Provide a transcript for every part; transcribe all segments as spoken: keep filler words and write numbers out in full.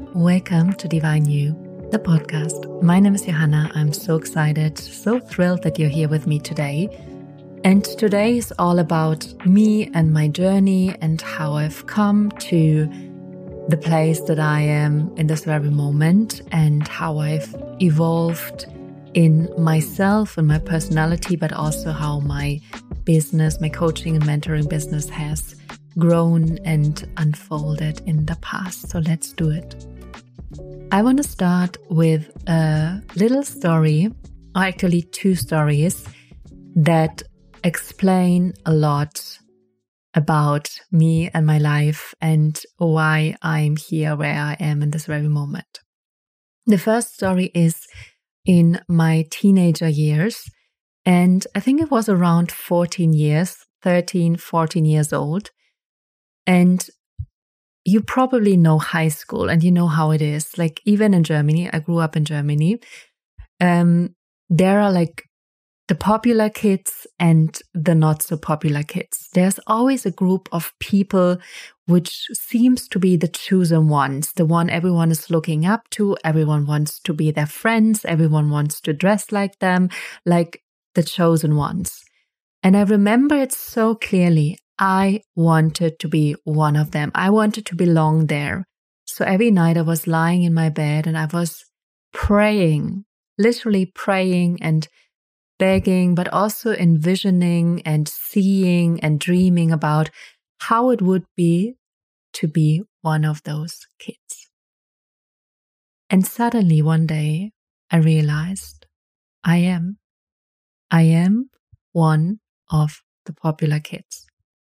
Welcome to Divine You, the podcast. My name is Johanna. I'm so excited, so thrilled that you're here with me today. And today is all about me and my journey and how I've come to the place that I am in this very moment and how I've evolved in myself and my personality, but also how my business, my coaching and mentoring business has grown and unfolded in the past. So let's do it. I want to start with a little story, or actually two stories, that explain a lot about me and my life and why I'm here where I am in this very moment. The first story is in my teenager years, and I think it was around fourteen years, thirteen, fourteen years old. And you probably know high school and you know how it is. Like even in Germany, I grew up in Germany. Um, there are like the popular kids and the not so popular kids. There's always a group of people which seems to be the chosen ones, the one everyone is looking up to. Everyone wants to be their friends. Everyone wants to dress like them, like the chosen ones. And I remember it so clearly. I wanted to be one of them. I wanted to belong there. So every night I was lying in my bed and I was praying, literally praying and begging, but also envisioning and seeing and dreaming about how it would be to be one of those kids. And suddenly one day I realized I am. I am one of the popular kids.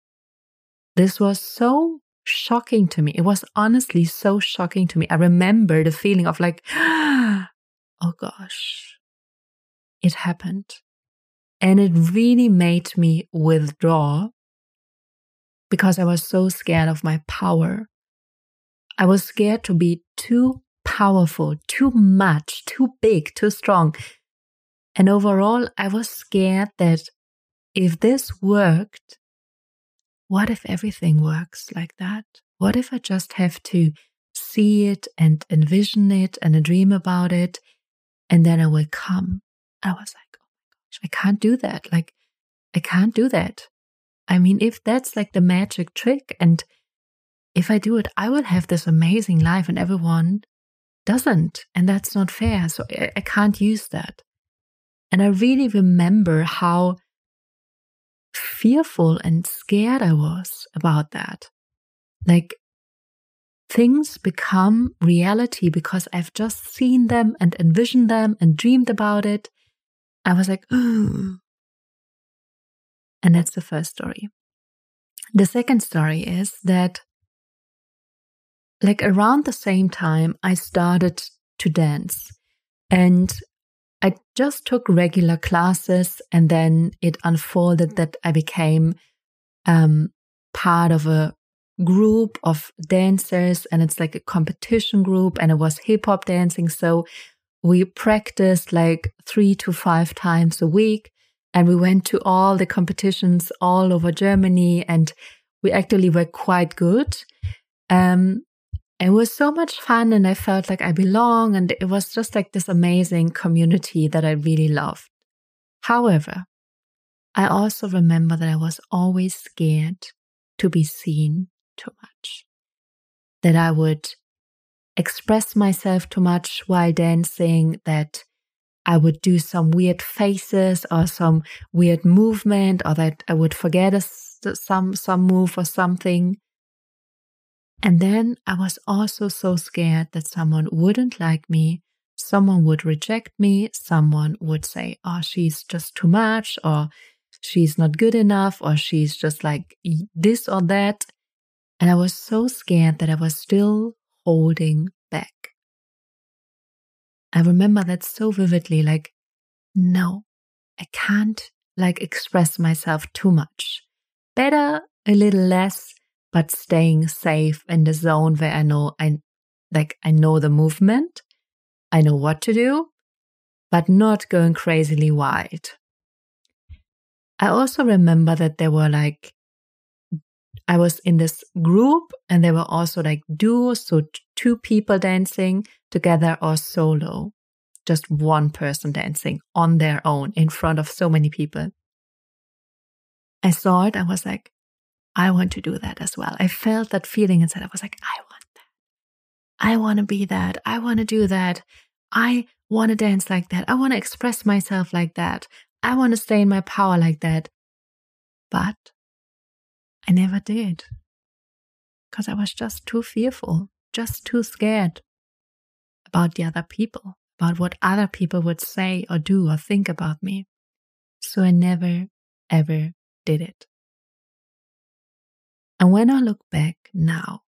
This was so shocking to me. It was honestly so shocking to me. I remember the feeling of like, oh gosh, it happened. And it really made me withdraw because I was so scared of my power. I was scared to be too powerful, too much, too big, too strong. And overall, I was scared that if this worked, what if everything works like that? What if I just have to see it and envision it and dream about it and then I will come? I was like, oh my gosh, I can't do that. Like, I can't do that. I mean, if that's like the magic trick and if I do it, I will have this amazing life and everyone doesn't. And that's not fair. So I, I can't use that. And I really remember how fearful and scared I was about that. Like things become reality because I've just seen them and envisioned them and dreamed about it. I was like, ooh. And that's the first story. The second story is that like around the same time I started to dance and I just took regular classes and then it unfolded that I became um, part of a group of dancers and it's like a competition group and it was hip hop dancing. So we practiced like three to five times a week and we went to all the competitions all over Germany and we actually were quite good. Um, It was so much fun and I felt like I belong and it was just like this amazing community that I really loved. However, I also remember that I was always scared to be seen too much. That I would express myself too much while dancing, that I would do some weird faces or some weird movement or that I would forget a, some, some move or something. And then I was also so scared that someone wouldn't like me, someone would reject me, someone would say, oh, she's just too much, or she's not good enough, or she's just like this or that. And I was so scared that I was still holding back. I remember that so vividly, like, no, I can't like express myself too much. Better a little less, but staying safe in the zone where I know I like I know the movement, I know what to do, but not going crazily wide. I also remember that there were like I was in this group and there were also like duos, so two people dancing together or solo, just one person dancing on their own in front of so many people. I saw it. I was like, I want to do that as well. I felt that feeling inside. I was like, I want that. I want to be that. I want to do that. I want to dance like that. I want to express myself like that. I want to stay in my power like that. But I never did, because I was just too fearful, just too scared about the other people, about what other people would say or do or think about me. So I never, ever did it. And when I look back now,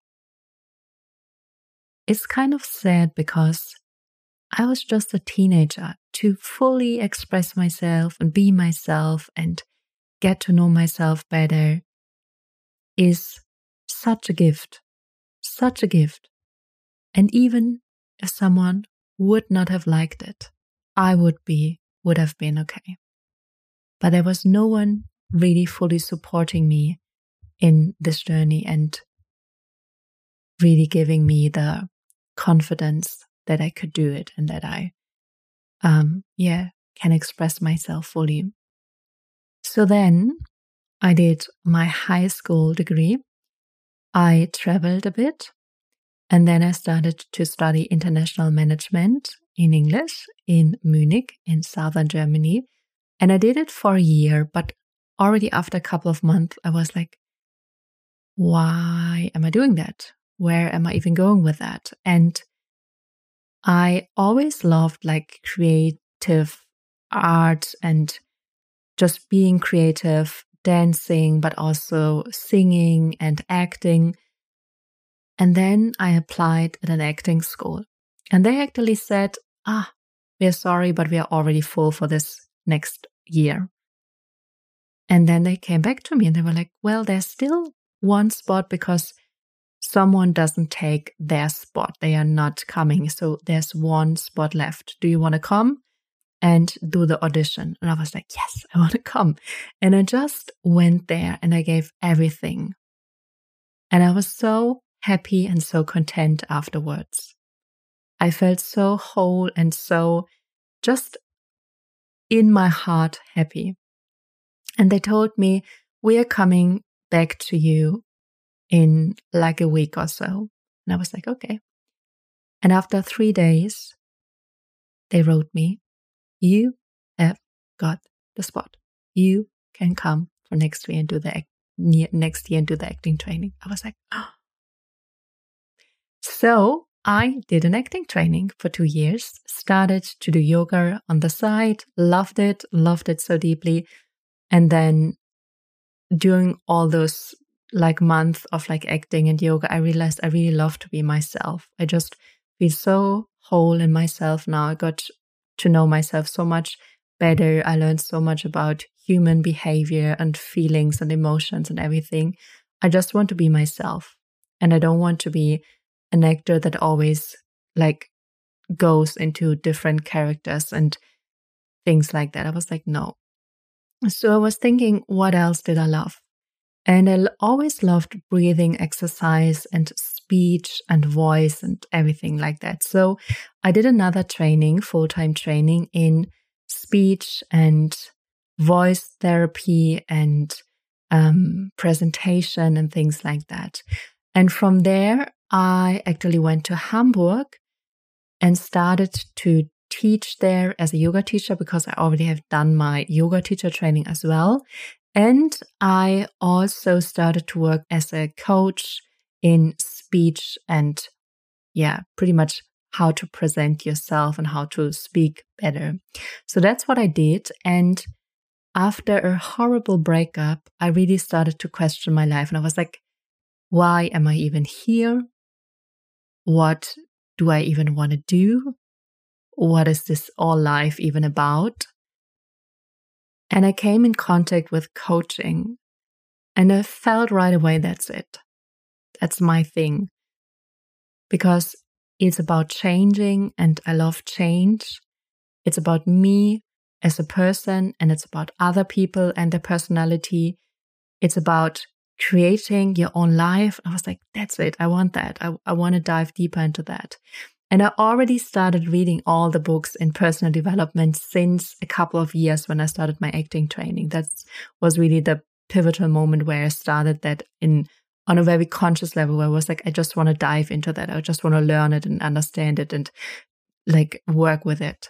it's kind of sad, because I was just a teenager. To fully express myself and be myself and get to know myself better is such a gift, such a gift. And even if someone would not have liked it, I would be, would have been okay. But there was no one really fully supporting me in this journey and really giving me the confidence that I could do it and that I, um, yeah, can express myself fully. So then I did my high school degree. I traveled a bit, and then I started to study international management in English in Munich in southern Germany. And I did it for a year, but already after a couple of months, I was like, why am I doing that? Where am I even going with that? And I always loved like creative art and just being creative, dancing, but also singing and acting. And then I applied at an acting school. And they actually said, ah, we're sorry, but we are already full for this next year. And then they came back to me and they were like, well, there's still one spot because someone doesn't take their spot. They are not coming. So there's one spot left. Do you want to come and do the audition? And I was like, yes, I want to come. And I just went there and I gave everything. And I was so happy and so content afterwards. I felt so whole and so just in my heart happy. And they told me, we are coming back to you in like a week or so. And I was like, okay. And after three days, they wrote me, you have got the spot. You can come for next year and do the act, next year and do the acting training. I was like, oh. So I did an acting training for two years, started to do yoga on the side, loved it, loved it so deeply. And then during all those like month of like acting and yoga, I realized I really love to be myself. I just feel so whole in myself now. I got to know myself so much better. I learned so much about human behavior and feelings and emotions and everything. I just want to be myself. And I don't want to be an actor that always like goes into different characters and things like that. I was like, no. So I was thinking, what else did I love? And I always loved breathing exercise and speech and voice and everything like that. So I did another training, full-time training in speech and voice therapy and um, presentation and things like that. And from there, I actually went to Hamburg and started to teach there as a yoga teacher because I already have done my yoga teacher training as well. And I also started to work as a coach in speech and yeah, pretty much how to present yourself and how to speak better. So that's what I did. And after a horrible breakup, I really started to question my life. And I was like, why am I even here? What do I even want to do? What is this all life even about? And I came in contact with coaching and I felt right away, that's it. That's my thing. Because it's about changing and I love change. It's about me as a person and it's about other people and their personality. It's about creating your own life. I was like, that's it. I want that. I, I want to dive deeper into that. And I already started reading all the books in personal development since a couple of years when I started my acting training. That was really the pivotal moment where I started that in on a very conscious level, where I was like, I just want to dive into that. I just want to learn it and understand it and like work with it.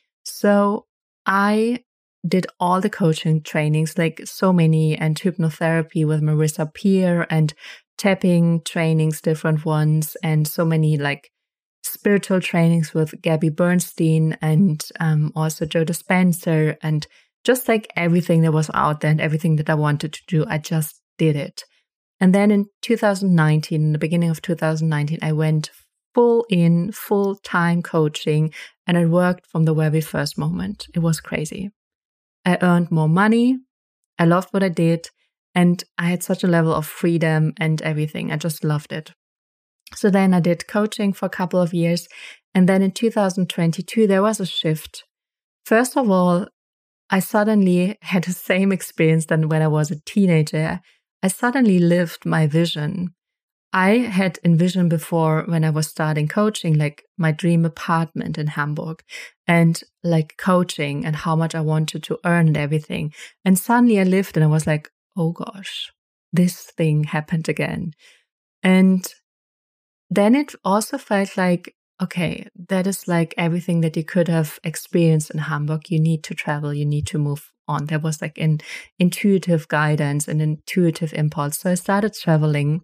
So I did all the coaching trainings, like so many, and hypnotherapy with Marissa Peer and tapping trainings, different ones, and so many like spiritual trainings with Gabby Bernstein and um, also Joe Dispenza, and just like everything that was out there and everything that I wanted to do, I just did it. And then in two thousand nineteen, in the beginning of two thousand nineteen, I went full in, full time coaching, and it worked from the very first moment. It was crazy. I earned more money. I loved what I did. And I had such a level of freedom and everything. I just loved it. So then I did coaching for a couple of years. And then in two thousand twenty-two, there was a shift. First of all, I suddenly had the same experience than when I was a teenager. I suddenly lived my vision. I had envisioned before when I was starting coaching, like my dream apartment in Hamburg and like coaching and how much I wanted to earn and everything. And suddenly I lived and I was like, oh gosh, this thing happened again. And then it also felt like, okay, that is like everything that you could have experienced in Hamburg. You need to travel, you need to move on. There was like an intuitive guidance and intuitive impulse. So I started traveling.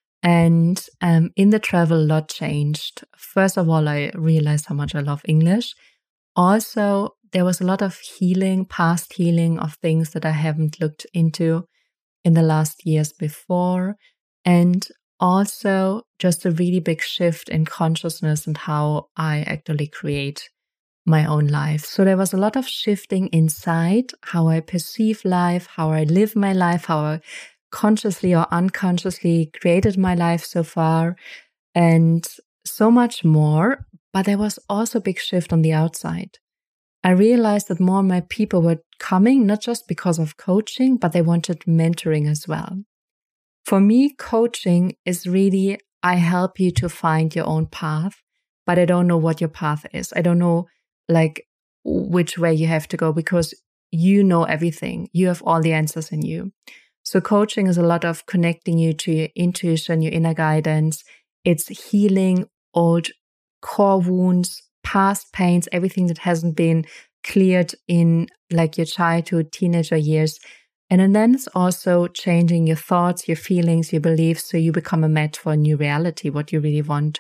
And um, in the travel, a lot changed. First of all, I realized how much I love English. Also, there was a lot of healing, past healing of things that I haven't looked into in the last years before. And also just a really big shift in consciousness and how I actually create my own life. So there was a lot of shifting inside how I perceive life, how I live my life, how I consciously or unconsciously created my life so far, and so much more. But there was also a big shift on the outside. I realized that more and more people were coming, not just because of coaching, but they wanted mentoring as well. For me, coaching is really, I help you to find your own path, but I don't know what your path is. I don't know like which way you have to go because you know everything. You have all the answers in you. So coaching is a lot of connecting you to your intuition, your inner guidance. It's healing old core wounds, past pains, everything that hasn't been cleared in like your childhood, teenager years. And then it's also changing your thoughts, your feelings, your beliefs, so you become a match for a new reality, what you really want.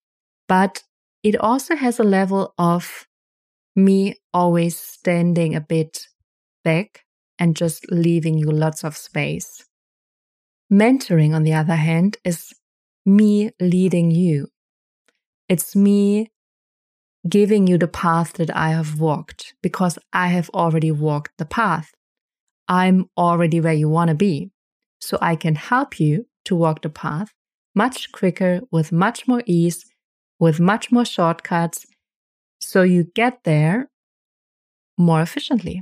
But it also has a level of me always standing a bit back and just leaving you lots of space. Mentoring, on the other hand, is me leading you. It's me giving you the path that I have walked because I have already walked the path. I'm already where you want to be. So I can help you to walk the path much quicker, with much more ease, with much more shortcuts, so you get there more efficiently.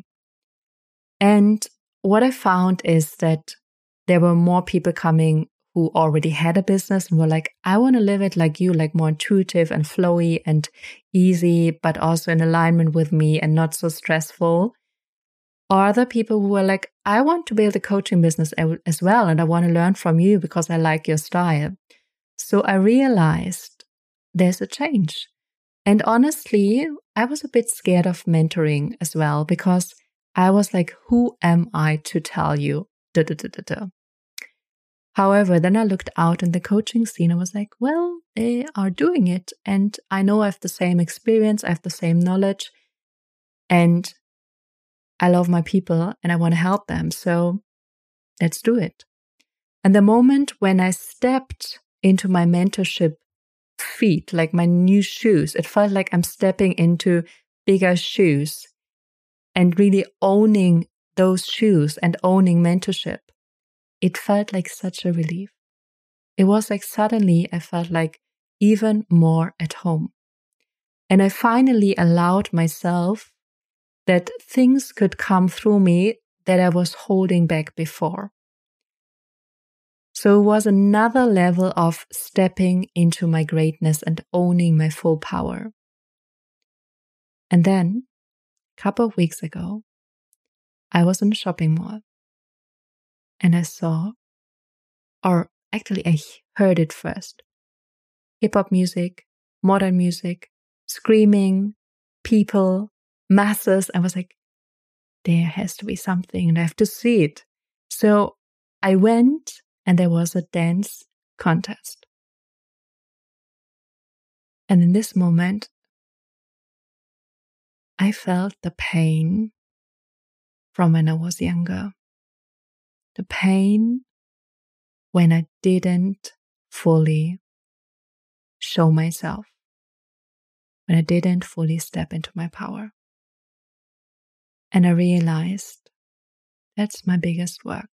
And what I found is that there were more people coming who already had a business and were like, I want to live it like you, like more intuitive and flowy and easy, but also in alignment with me and not so stressful. Or other people who were like, I want to build a coaching business as well, and I want to learn from you because I like your style. So I realized there's a change. And honestly, I was a bit scared of mentoring as well because I was like, who am I to tell you? Da, da, da, da, da. However, then I looked out in the coaching scene and was like, well, they are doing it. And I know I have the same experience, I have the same knowledge, and I love my people and I want to help them. So let's do it. And the moment when I stepped into my mentorship feet, like my new shoes, it felt like I'm stepping into bigger shoes and really owning those shoes and owning mentorship. It felt like such a relief. It was like suddenly I felt like even more at home. And I finally allowed myself that things could come through me that I was holding back before. So it was another level of stepping into my greatness and owning my full power. And then, a couple of weeks ago, I was in a shopping mall and I saw, or actually I heard it first, hip-hop music, modern music, screaming, people, masses. I was like, there has to be something and I have to see it. So I went and there was a dance contest. And in this moment, I felt the pain from when I was younger. The pain when I didn't fully show myself. When I didn't fully step into my power. And I realized that's my biggest work.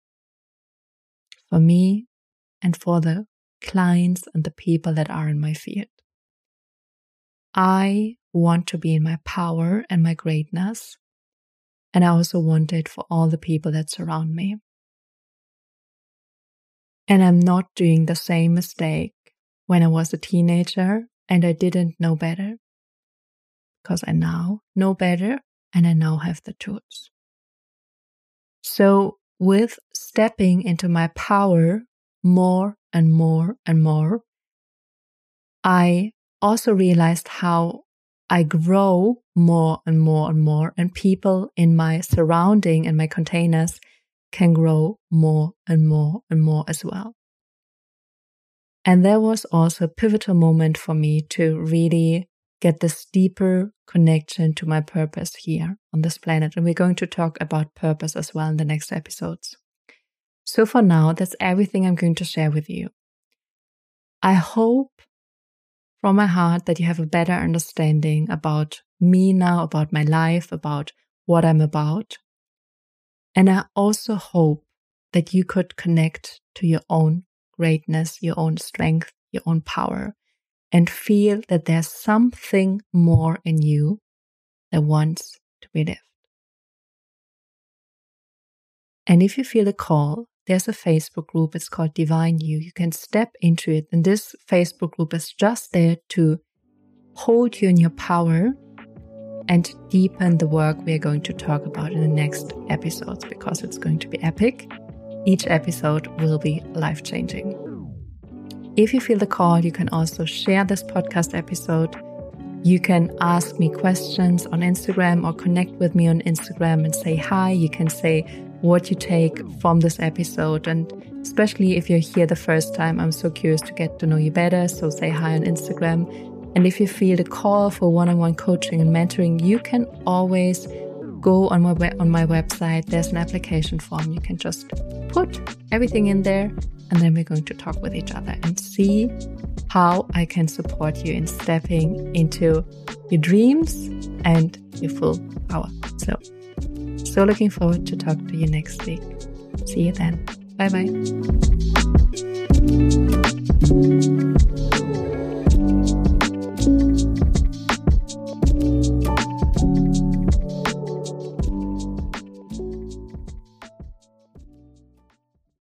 For me and for the clients and the people that are in my field. I want to be in my power and my greatness. And I also want it for all the people that surround me. And I'm not doing the same mistake when I was a teenager and I didn't know better. Because I now know better and I now have the tools. So with stepping into my power more and more and more, I also realized how I grow more and more and more, and people in my surrounding and my containers can grow more and more and more as well. And there was also a pivotal moment for me to really get this deeper connection to my purpose here on this planet. And we're going to talk about purpose as well in the next episodes. So for now, that's everything I'm going to share with you. I hope from my heart that you have a better understanding about me now, about my life, about what I'm about. And I also hope that you could connect to your own greatness, your own strength, your own power, and feel that there's something more in you that wants to be lived. And if you feel a call, there's a Facebook group. It's called Divine You. You can step into it. And this Facebook group is just there to hold you in your power and deepen the work we are going to talk about in the next episodes, because it's going to be epic. Each episode will be life-changing. If you feel the call, you can also share this podcast episode. You can ask me questions on Instagram or connect with me on Instagram and say hi. You can say what you take from this episode. And especially if you're here the first time, I'm so curious to get to know you better. So say hi on Instagram. And if you feel the call for one-on-one coaching and mentoring, you can always go on my web- on my website. There's an application form. You can just put everything in there, and then we're going to talk with each other and see how I can support you in stepping into your dreams and your full power. So, so looking forward to talk to you next week. See you then. Bye bye.